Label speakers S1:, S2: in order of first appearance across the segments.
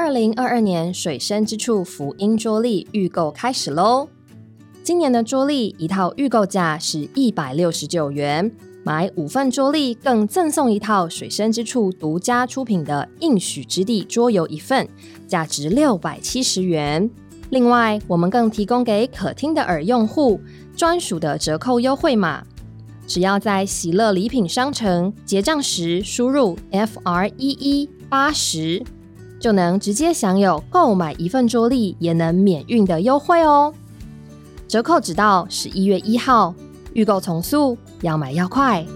S1: 2022年水深之处福音桌历预购开始咯。今年的桌历一套预购价是169元，买5份桌历更赠送一套水深之处独家出品的应许之地桌游1份，价值670元。另外我们更提供给可听的耳用户专属的折扣优惠码，只要在喜乐礼品商城结账时输入 FREE80， 就能直接享有购买1份桌历也能免运的优惠哦。折扣只到11月1号，预购从速，要买要快。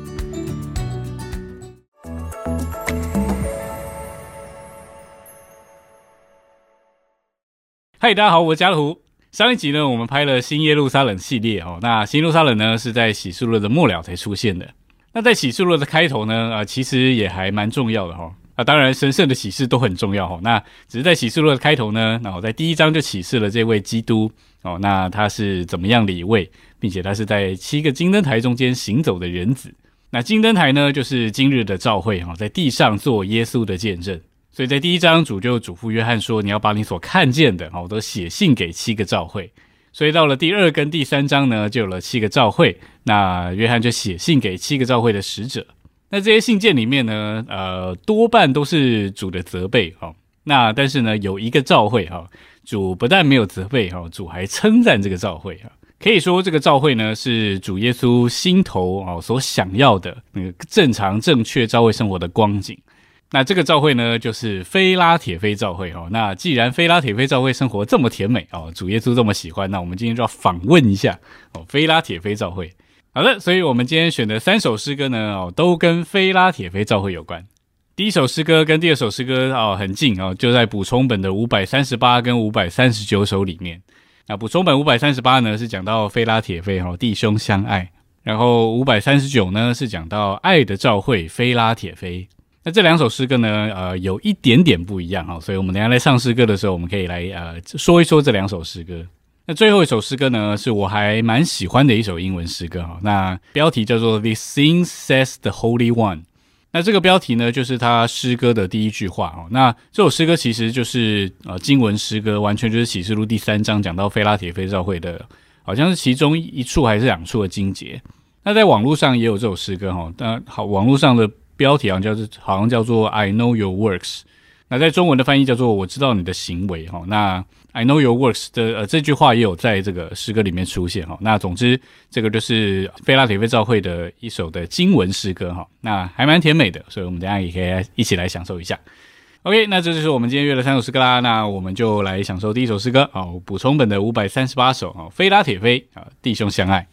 S2: 嗨，大家好，我是家乐。上一集呢，我们拍了新耶路撒冷系列哦。那新耶路撒冷呢，是在启示录的末了才出现的。那在启示录的开头呢，其实也还蛮重要的哈。当然神圣的启示都很重要哈。那只是在启示录的开头呢，然后在第1章就启示了这位基督哦。那他是怎么样的一位，并且他是在7个金灯台中间行走的人子。那金灯台呢，就是今日的教会哈，在地上做耶稣的见证。所以在第1章主就嘱咐约翰说，你要把你所看见的都写信给7个教会。所以到了第2跟第3章呢，就有了7个教会，那约翰就写信给7个教会的使者。那这些信件里面呢，多半都是主的责备那但是呢，有一个教会主不但没有责备主还称赞这个教会可以说这个教会呢，是主耶稣心头所想要的那个正常正确教会生活的光景。那这个教会呢，就是菲拉铁非教会那既然菲拉铁非教会生活这么甜美主耶稣这么喜欢，那我们今天就要访问一下菲拉铁非教会。好的，所以我们今天选的3首诗歌呢，都跟菲拉铁非教会有关。第一首诗歌跟第2首诗歌很近就在补充本的538跟539首里面。那补充本538呢，是讲到菲拉铁非弟兄相爱，然后539呢是讲到爱的教会菲拉铁非。那这2首诗歌呢，有一点点不一样所以我们等一下在上诗歌的时候，我们可以来说一说这2首诗歌。那最后一首诗歌呢，是我还蛮喜欢的一首英文诗歌那标题叫做 This thing says the Holy One。那这个标题呢，就是他诗歌的第1句话那这首诗歌其实就是经文诗歌，完全就是启示录第3章讲到菲拉铁非教会的，好像是其中1处还是2处的经节。那在网络上也有这首诗歌那网络上的标题好像叫做 I know your works。 那在中文的翻译叫做我知道你的行为那 I know your works 的这句话也有在这个诗歌里面出现那总之这个就是菲拉铁非教会的一首的经文诗歌那还蛮甜美的，所以我们等一下也可以一起来享受一下。 OK， 那这就是我们今天约的3首诗歌啦。那我们就来享受第1首诗歌补充本的538首菲拉铁非弟兄相爱。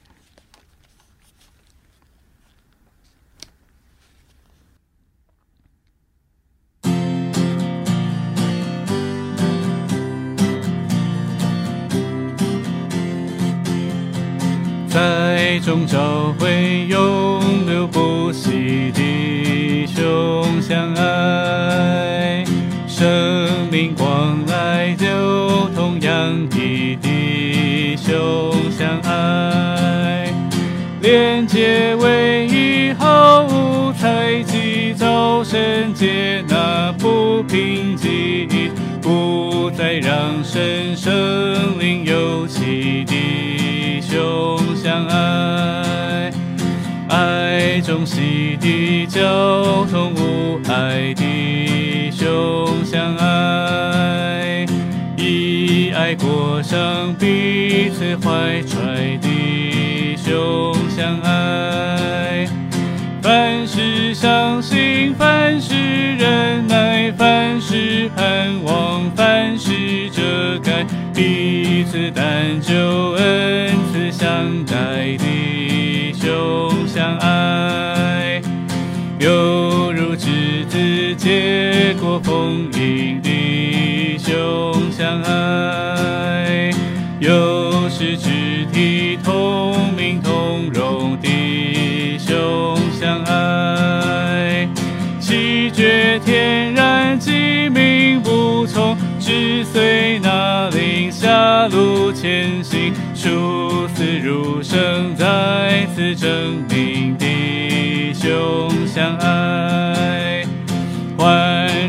S2: 在众教会永流不息，弟兄相爱，生命光来就同样的弟兄相爱，连结为一毫无猜忌，早晨接纳不平静，不再让神圣灵有气，弟兄相爱，爱中洗涤交通无碍，弟兄相爱，以爱过上彼此怀揣，弟兄相爱，凡事相信，凡事忍耐，凡事盼望，凡事遮盖，彼此担救恩赐相待，弟兄相爱，犹如枝子结果丰盈，弟兄相爱，又是肢体同名同荣，弟兄相爱，气绝天然机敏不从，只随那灵下路前行，殊死如生，再次证明弟兄相爱，焕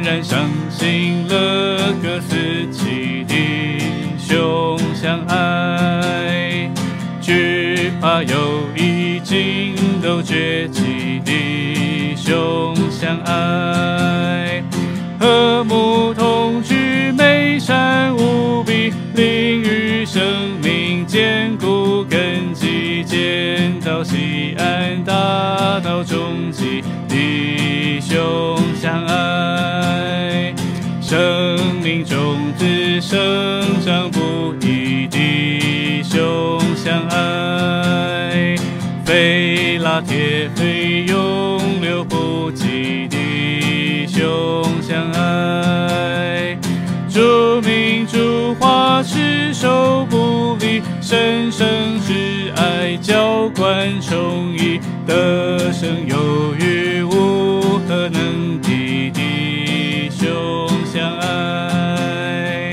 S2: 然伤心了，各司其弟兄相爱，惧怕有已经都绝迹，弟兄相爱，和睦同居，美善无比，灵与生命坚固根基，建到西安，大到终极，弟兄相爱，生命种子生长不易，弟兄相爱，非拉铁非永流不及，弟兄相爱，主名主话持守不离，神圣之爱浇灌充溢，得胜有余无可能敌，弟兄相爱。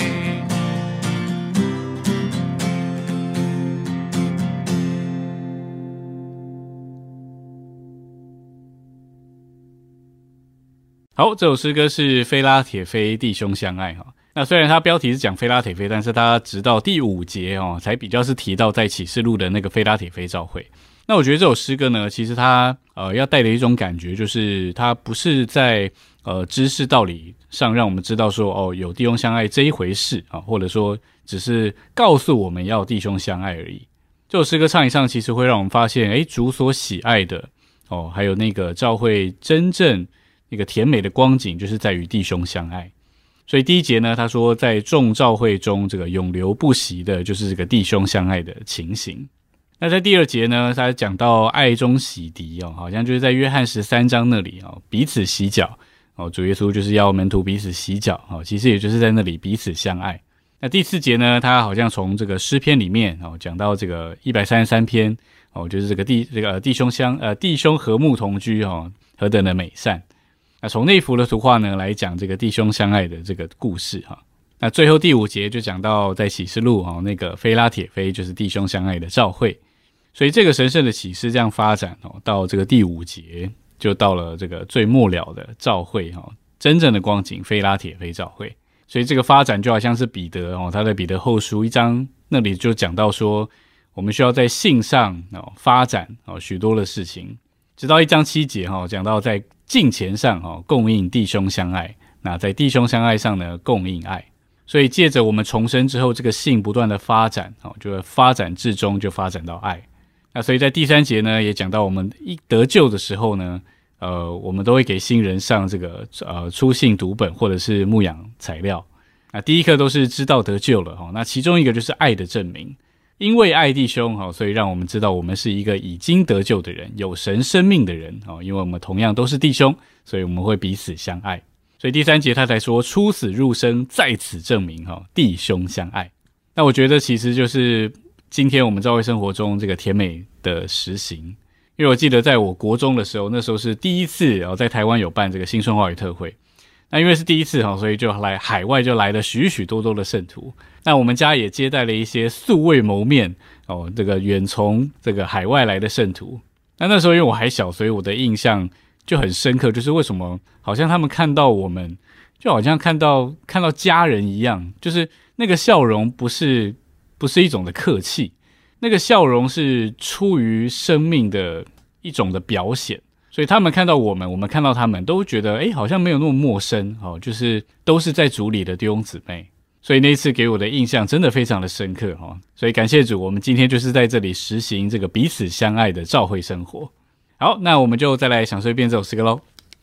S2: 好，这首诗歌是非拉铁非弟兄相爱哈。那虽然它标题是讲非拉铁非，但是它直到第5节才比较是提到在启示录的那个非拉铁非教会。那我觉得这首诗歌呢，其实它要带的一种感觉，就是它不是在知识道理上让我们知道说有弟兄相爱这一回事啊，或者说只是告诉我们要弟兄相爱而已。这首诗歌唱一唱，其实会让我们发现，主所喜爱的还有那个教会真正那个甜美的光景，就是在于弟兄相爱。所以第1节呢，他说在众教会中，这个永流不息的就是这个弟兄相爱的情形。那在第2节呢，他讲到爱中洗涤好像就是在约翰13章那里彼此洗脚主耶稣就是要门徒彼此洗脚其实也就是在那里彼此相爱。那第4节呢，他好像从这个诗篇里面讲到这个133篇就是这个弟兄和睦同居何等的美善。那从那幅的图画呢来讲这个弟兄相爱的这个故事那最后第5节就讲到在启示录那个非拉铁非就是弟兄相爱的教会。所以这个神圣的启示这样发展到这个第5节就到了这个最末了的教会真正的光景非拉铁非教会。所以这个发展就好像是彼得他在彼得后书1章那里就讲到说，我们需要在信上发展许多的事情，直到1章7节讲到在敬虔上供应弟兄相爱，那在弟兄相爱上呢供应爱。所以借着我们重生之后，这个信不断的发展就会发展至终就发展到爱。那所以在第3节呢也讲到我们一得救的时候呢我们都会给新人上这个初信读本或者是牧养材料。那第一课都是知道得救了那其中一个就是爱的证明，因为爱弟兄所以让我们知道我们是一个已经得救的人，有神生命的人因为我们同样都是弟兄，所以我们会彼此相爱。所以第3节他才说出死入生，在此证明弟兄相爱。那我觉得其实就是今天我们教会生活中这个甜美的实行。因为我记得在我国中的时候，那时候是第一次在台湾有办这个新春话语特会。那因为是第一次所以就来海外就来了许许多多的圣徒。那我们家也接待了一些素未谋面这个远从这个海外来的圣徒。那时候因为我还小，所以我的印象就很深刻，就是为什么好像他们看到我们就好像看到家人一样，就是那个笑容不是一种的客气，那个笑容是出于生命的一种的表现。所以他们看到我们看到他们都觉得好像没有那么陌生就是都是在主里的弟兄姊妹。所以那一次给我的印象真的非常的深刻所以感谢主，我们今天就是在这里实行这个彼此相爱的教会生活。好，那我们就再来享受一遍这首诗歌咯。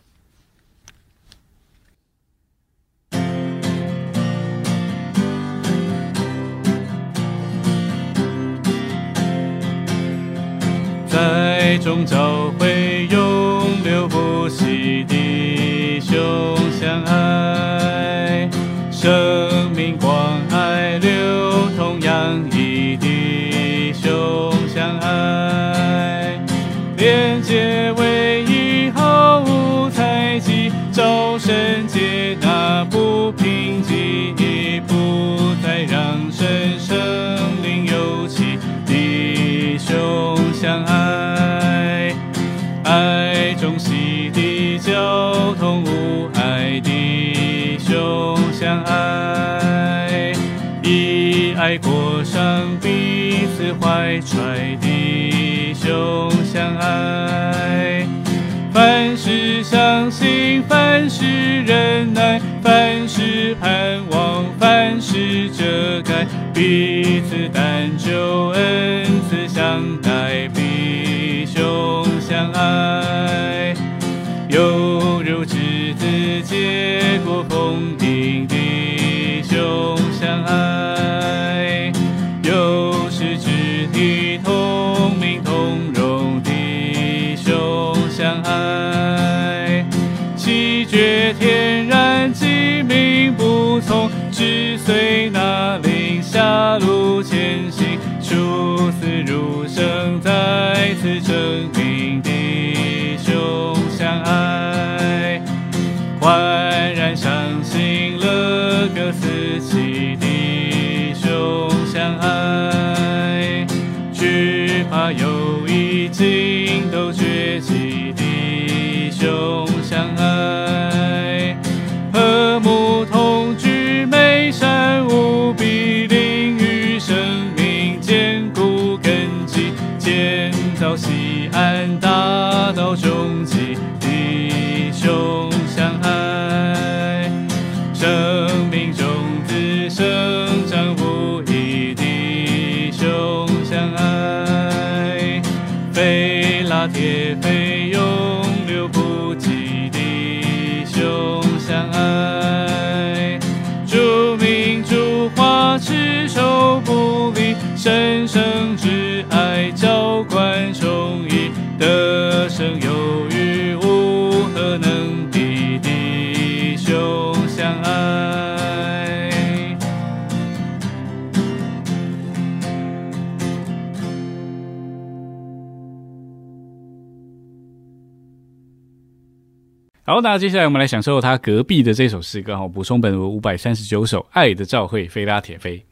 S2: 在众教会永流不息，弟兄相爱，生命光爱流通洋溢，弟兄相爱，连结唯一毫无猜忌，招神接纳不平静，不再让神生灵有气，弟兄相爱，爱中洗涤交通无碍，弟怀揣弟兄相爱。凡事相信，凡事忍耐，凡事盼望，凡事遮盖，彼此但求恩赐相待，弟兄相爱。犹如枝子结果丰盈，弟兄相爱。又是肢体同名同荣，弟兄相爱。气绝天然，机敏不从，只随那灵下路前行，殊死如生，再次证明弟兄相爱。焕然相信了各司其弟兄相爱。惧怕有意尽都绝迹，弟兄相爱。和睦同居，美善无比，灵与生命坚固根基，建造西安大道终极，弟兄相爱。生命种子生长不易，弟兄相爱。非拉铁非永流不及，弟兄相爱。主名主话，持守不离，神圣之爱浇灌充溢，得胜有余，无何能敌，弟兄相爱。好，那接下来我们来享受他隔壁的这首诗歌，补充本文539首《爱的召会》非拉铁非。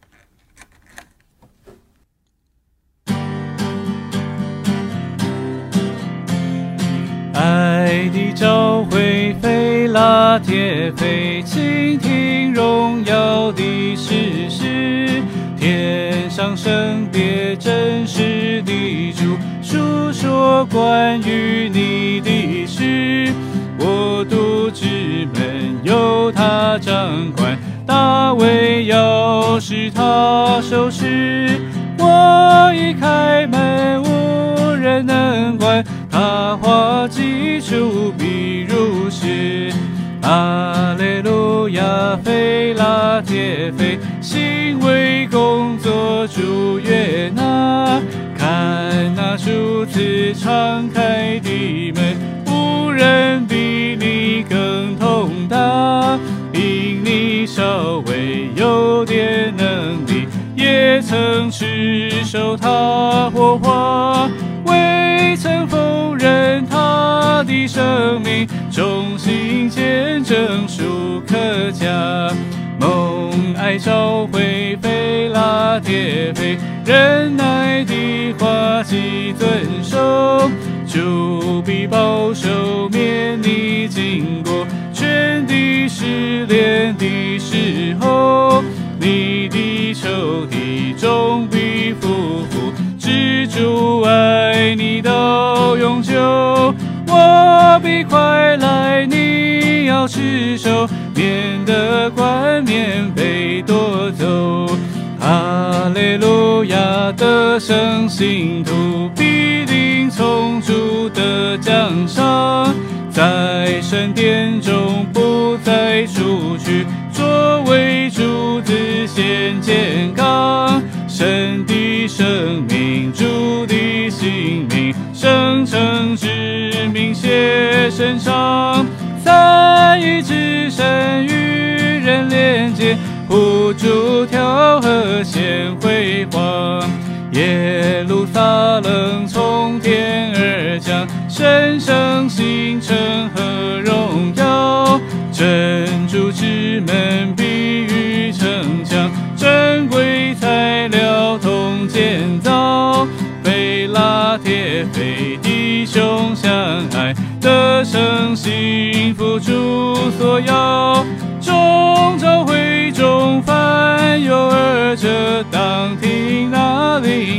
S2: 爱的召会非拉铁非，倾听荣耀的事实，天上圣别真实的主，述说关于你的事。国度之门由他掌管，大卫要使他收拾。我一开门，无人能关，他话既出，必如实。阿肋路亚，非拉铁非，行为工作主悦纳。看那主赐敞开的门，无人比你更通达。因你稍微有点能力，也曾持守他火花，未曾否认他的生命，忠心见证属可嘉。蒙爱召会非拉铁非，忍耐的话既遵守，主必保守免你经过全地试炼的时候。你的仇敌终必匍匐，知主爱你到永久。我必快来，你要持守，免得冠冕被夺走。哈利路亚，得胜信徒必定从主的奖赏，在神殿中不再出去，作为主子显健康。神的生命，主的性命，圣城之名写身上，三一之神与人连接，护主调和显辉煌。耶路撒冷从天而降，神圣星辰和荣耀。珍珠之门必于城墙，珍贵材料同建造。非拉铁非，弟兄相爱，得胜幸福主所要。众召会中凡有二者，当听那灵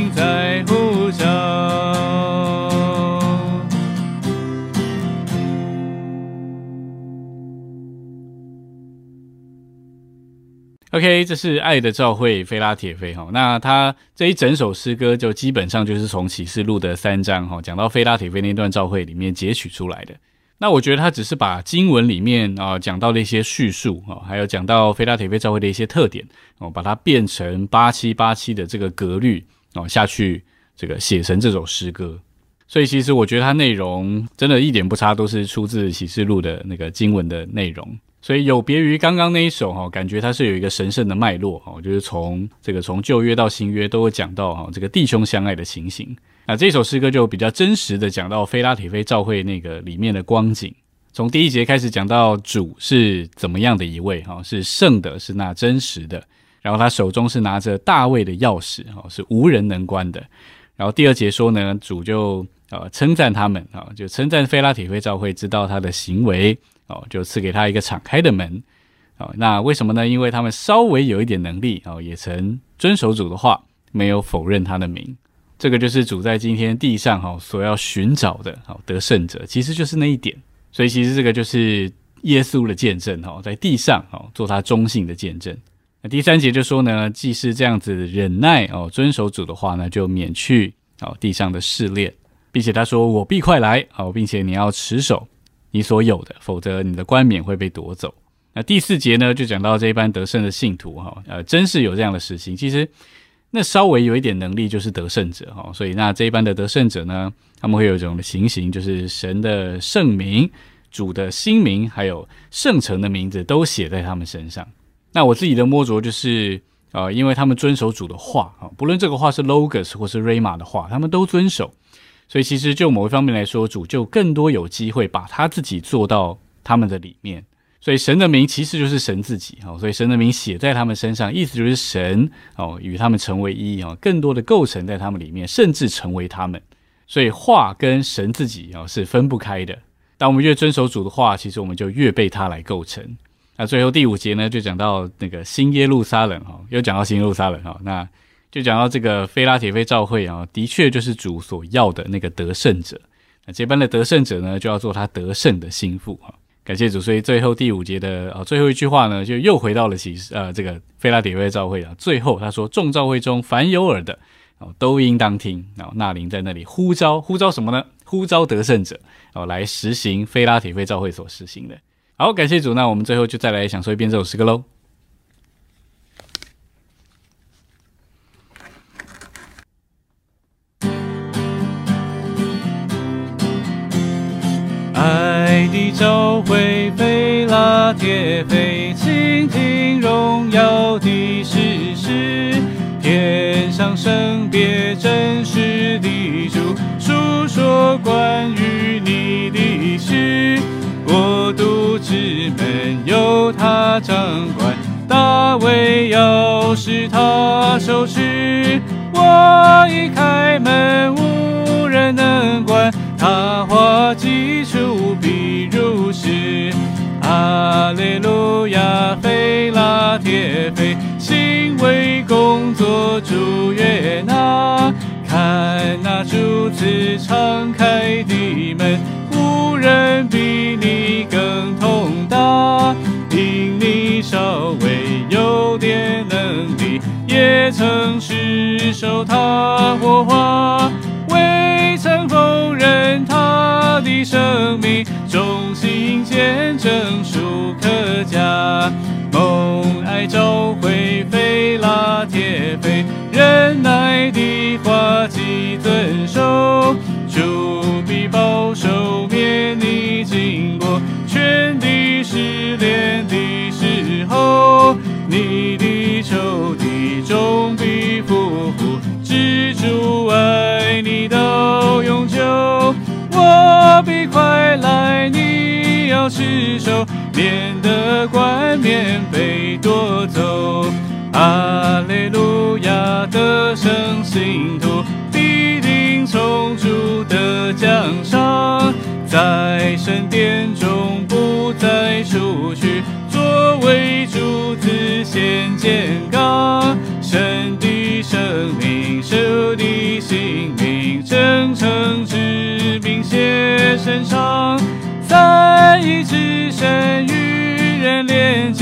S2: OK， 这是爱的召会菲拉铁非。那他这一整首诗歌就基本上就是从启示录的3章讲到菲拉铁非那段召会里面截取出来的。那我觉得他只是把经文里面讲到的一些叙述还有讲到菲拉铁非召会的一些特点把它变成8787的这个格律下去这个写成这首诗歌。所以其实我觉得它内容真的一点不差，都是出自启示录的那个经文的内容。所以有别于刚刚那一首感觉它是有一个神圣的脉络就是从旧约到新约都会讲到这个弟兄相爱的情形。那这首诗歌就比较真实的讲到菲拉铁非召会那个里面的光景。从第1节开始讲到主是怎么样的一位是圣的，是那真实的，然后他手中是拿着大卫的钥匙是无人能关的。然后第2节说呢，主就称赞他们就称赞菲拉铁非召会知道他的行为就赐给他一个敞开的门那为什么呢？因为他们稍微有一点能力也曾遵守主的话，没有否认他的名。这个就是主在今天地上所要寻找的得胜者，其实就是那一点。所以其实这个就是耶稣的见证在地上做他忠信的见证。那第3节就说呢，既是这样子忍耐遵守主的话呢，就免去地上的试炼，并且他说我必快来并且你要持守你所有的，否则你的冠冕会被夺走。那第4节呢，就讲到这一班得胜的信徒真是有这样的实行。其实那稍微有一点能力就是得胜者所以那这一班的得胜者呢，他们会有一种的情形，就是神的圣名、主的新名还有圣城的名字都写在他们身上。那我自己的摸着就是因为他们遵守主的话不论这个话是 Logos 或是 Rhema 的话，他们都遵守。所以其实就某一方面来说，主就更多有机会把他自己做到他们的里面。所以神的名其实就是神自己所以神的名写在他们身上，意思就是神与他们成为一更多的构成在他们里面，甚至成为他们。所以话跟神自己是分不开的。当我们越遵守主的话，其实我们就越被他来构成。那最后第5节呢，就讲到那个新耶路撒冷又讲到新耶路撒冷那就讲到这个菲拉铁非召会的确就是主所要的那个得胜者。那这般的得胜者呢，就要做他得胜的心腹感谢主。所以最后第5节的最后一句话呢，就又回到了这个菲拉铁非召会最后他说众召会中凡有耳的都应当听。那灵在那里呼召什么呢？呼召得胜者来实行菲拉铁非召会所实行的。好，感谢主。那我们最后就再来享受一遍这首诗歌咯。
S3: 爱的召会菲拉铁非，倾听荣耀的事实，天上圣别真实的主，述说关于你的事。国度之门由他掌管，大卫钥匙他手持。我一开门，无人能关，他话基础必如实。哈利路亚，菲拉铁非，行为工作主悦纳。看那主赐敞开的门，无人比你更通达。因你稍微有点能力，也曾持守他活话，未曾否认他的生命，忠心见证属可嘉。蒙爱召会菲拉铁非，忍耐的话既遵守，主必保守免你经过全地试炼的时候。你的仇敌终必匍匐，知主爱你到永久。我必快来，你要持守，免得冠冕被夺走。哈利路亚，得胜信徒必定从主得奖赏，在神殿中不再出去，作为主子显健刚。神的生命，神的性命，真诚之名写身上，三一之神与人连结，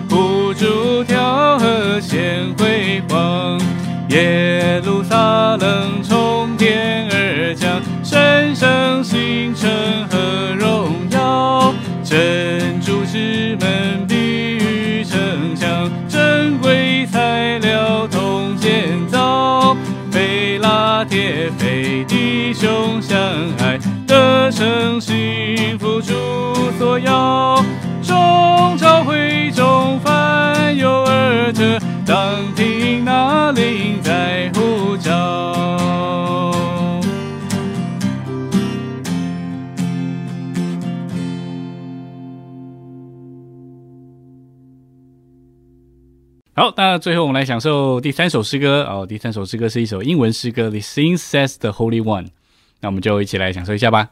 S3: 呼诸条河显辉煌。耶路撒冷从天而降，神圣星辰和荣耀。珍珠之门必于城墙，珍贵材料同建造。非拉铁非弟兄相爱，得胜幸福主所要。众召会中凡有耳者，当听那灵在呼召。
S2: 好，那最后我们来享受第3首诗歌哦。第3首诗歌是一首英文诗歌 The Sing Says the Holy One， 那我们就一起来享受一下吧。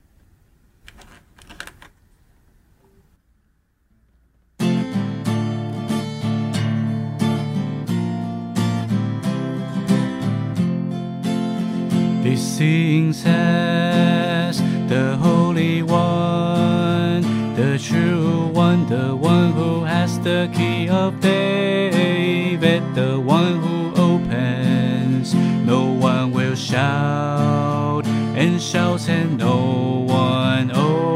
S3: The Sing says the Holy One, the true one, the one who has the key of David, the one who opens. No one will shout and shouts and no one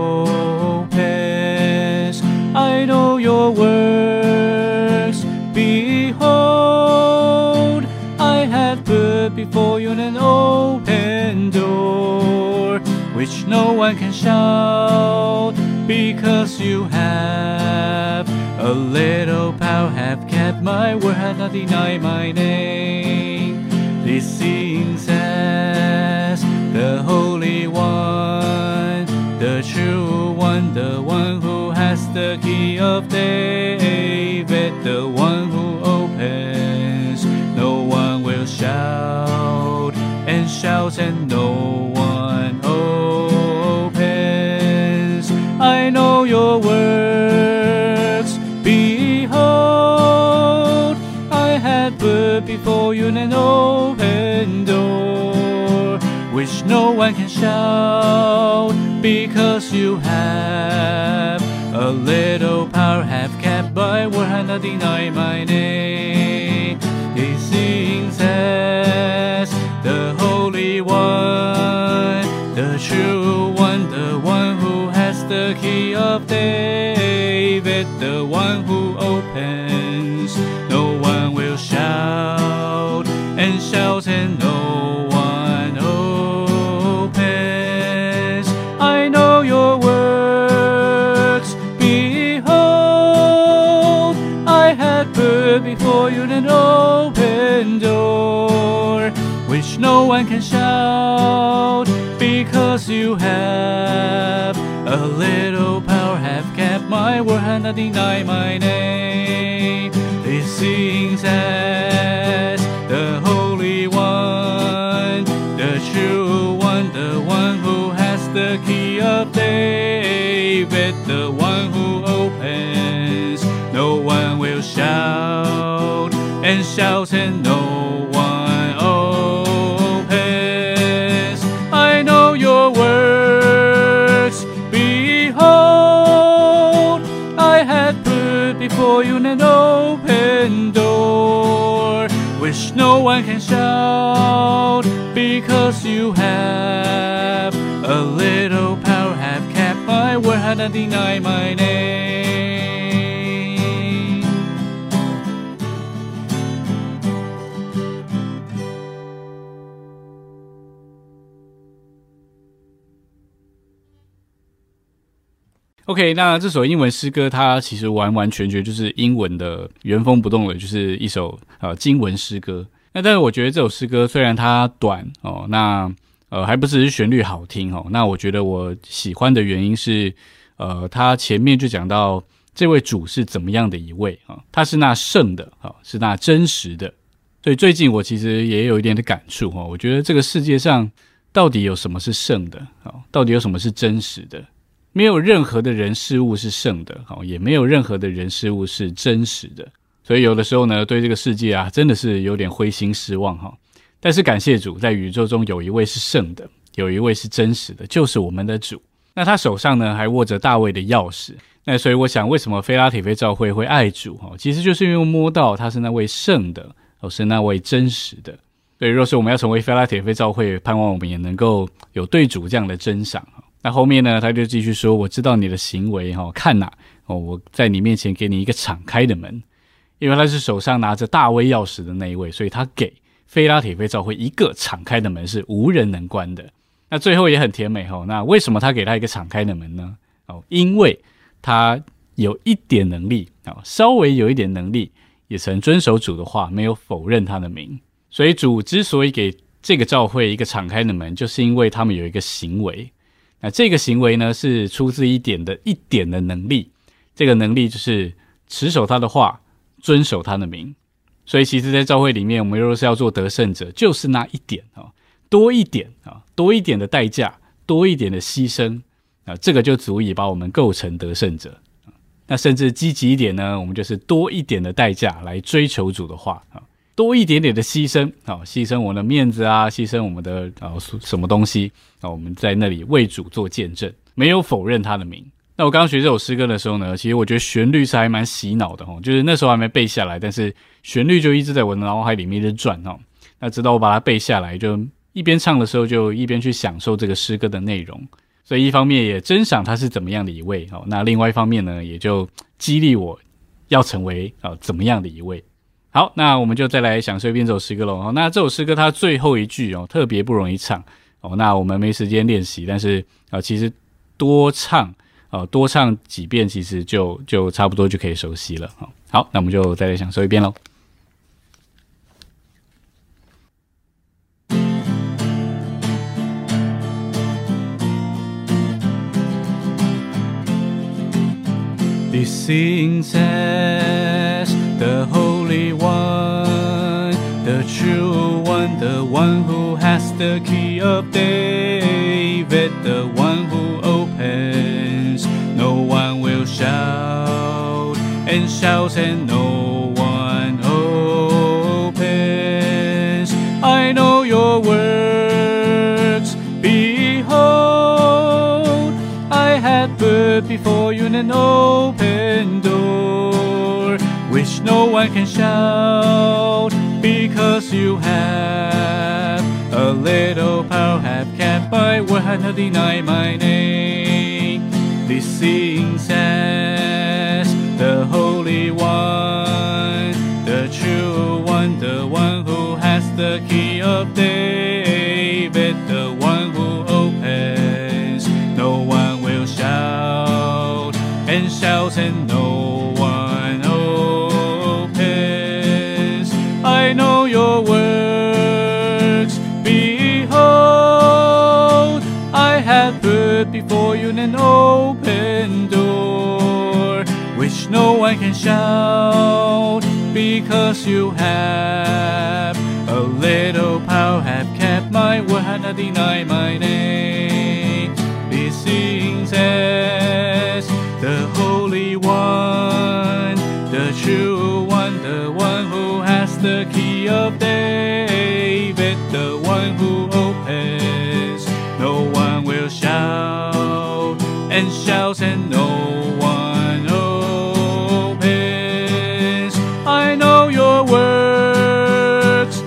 S3: opens. I know your works, behold, I have put before you an open door, which no one can shout, because you have a little power, have kept my word, have not denied my name. This Sing says the Holy One, the true one, the one who has the key of David, the one who opens. No one will shout and shouts and no one opens. I know your works, behold, I have put before you an open door, which no one can shout, because you have a little power, have kept my word, have not denied my name. He sings as the Holy One, the true one, the one who has the key of David, the one who opens. No one will shout and shout and no one opens. I know your works, behold, I have put before you an open door, which no one can shout, because you have a little power, have kept my word, have not denied my name. He sings as the Holy One, the true one, the one who has the key of David, the one who opens. No one will shout and shout and no one opens. I know your works, behold, I have put before you an open door, which no one can shout, because you have a little power, have kept my word, have not denied my name.
S2: OK， 那这首英文诗歌它其实完完全全就是英文的原封不动的，就是一首经文诗歌。那但是我觉得这首诗歌虽然它短哦，那还不只是旋律好听哦，那我觉得我喜欢的原因是它前面就讲到这位主是怎么样的一位啊，他是那圣的啊，是那真实的。所以最近我其实也有一点的感触哦，我觉得这个世界上到底有什么是圣的啊？到底有什么是真实的？没有任何的人事物是圣的，也没有任何的人事物是真实的。所以有的时候呢，对这个世界啊，真的是有点灰心失望哈。但是感谢主，在宇宙中有一位是圣的，有一位是真实的，就是我们的主。 那他手上呢还握着大卫的钥匙。那所以我想为什么非拉铁非教会会爱主，其实就是因为摸到他是那位圣的，是那位真实的。所以若是我们要成为非拉铁非教会，盼望我们也能够有对主这样的珍赏。那后面呢他就继续说，我知道你的行为，看哪，我在你面前给你一个敞开的门。因为他是手上拿着大卫钥匙的那一位，所以他给非拉铁非教会一个敞开的门，是无人能关的。那最后也很甜美，那为什么他给他一个敞开的门呢？因为他有一点能力，稍微有一点能力，也曾遵守主的话，没有否认他的名。所以主之所以给这个教会一个敞开的门，就是因为他们有一个行为。那这个行为呢，是出自一点的能力。这个能力就是持守他的话，遵守他的名。所以其实在教会里面，我们若是要做得胜者，就是那一点，多一点的代价，多一点的牺牲，这个就足以把我们构成得胜者。那甚至积极一点呢，我们就是多一点的代价来追求主的话，多一点点的牺牲，牺牲我们的面子啊，牺牲我们的什么东西，我们在那里为主做见证，没有否认他的名。那我刚刚学这首诗歌的时候呢，其实我觉得旋律是还蛮洗脑的，就是那时候还没背下来，但是旋律就一直在我的脑海里面一直转。那直到我把它背下来，就一边唱的时候就一边去享受这个诗歌的内容。所以一方面也珍赏他是怎么样的一位，那另外一方面呢，也就激励我要成为怎么样的一位。好，那我们就再来享受一遍这首诗歌咯。那这首诗歌它最后一句特别不容易唱，那我们没时间练习，但是其实多唱几遍，其实就差不多就可以熟悉了。好，那我们就再来享受一遍咯。
S3: This thing says the Holy One, the true one, the one who has the key of David, the one who opens. No one will shout and shout and no one opens. I know your works, behold, I have put before you an open door, which no one can shout, because you have a little power, have kept my word, have not denied my name. This thing says the Holy One, the true one, the one who has the key of David, the one who opens. No one will shout and shout and no one opens. I know your works, behold, I have put before you an open door, which no one can shout, because you have a little power, have kept my word, have not denied my name. This thing says the Holy One, the true one, the one who has the key of David, the one who opens. No one will shout and shout and no one opens. I know your works,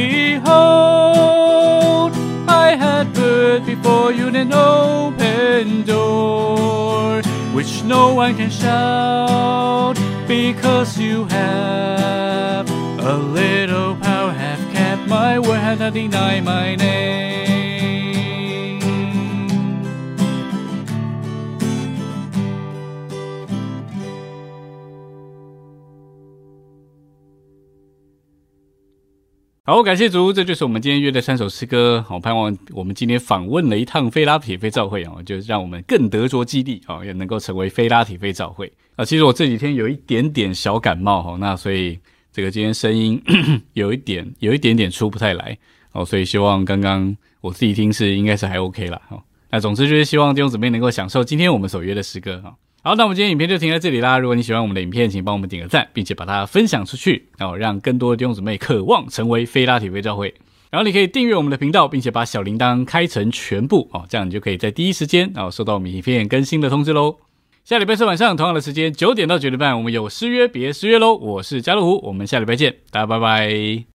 S3: behold, I had put before you an open door, which no one can shout, because you have a little power, have kept my word, have not denied my name.
S2: 好，感谢主，这就是我们今天约的3首诗歌。好，盼望我们今天访问了一趟非拉铁非教会，就让我们更得着激励，也能够成为非拉铁非教会。其实我这几天有一点点小感冒，那所以这个今天声音有一点点出不太来，所以希望刚刚我自己听是应该是还 OK 啦。那总之就是希望弟兄姊妹能够享受今天我们所约的诗歌。好，那我们今天影片就停在这里啦。如果你喜欢我们的影片，请帮我们点个赞，并且把它分享出去，让更多的弟兄姊妹渴望成为非拉铁非教会。 然后你可以订阅我们的频道，并且把小铃铛开成全部哦，这样你就可以在第一时间收到我们影片更新的通知咯。下礼拜四晚上同样的时间9点到9点半，我们有失约别失约咯。我是家乐福，我们下礼拜见，大家拜拜。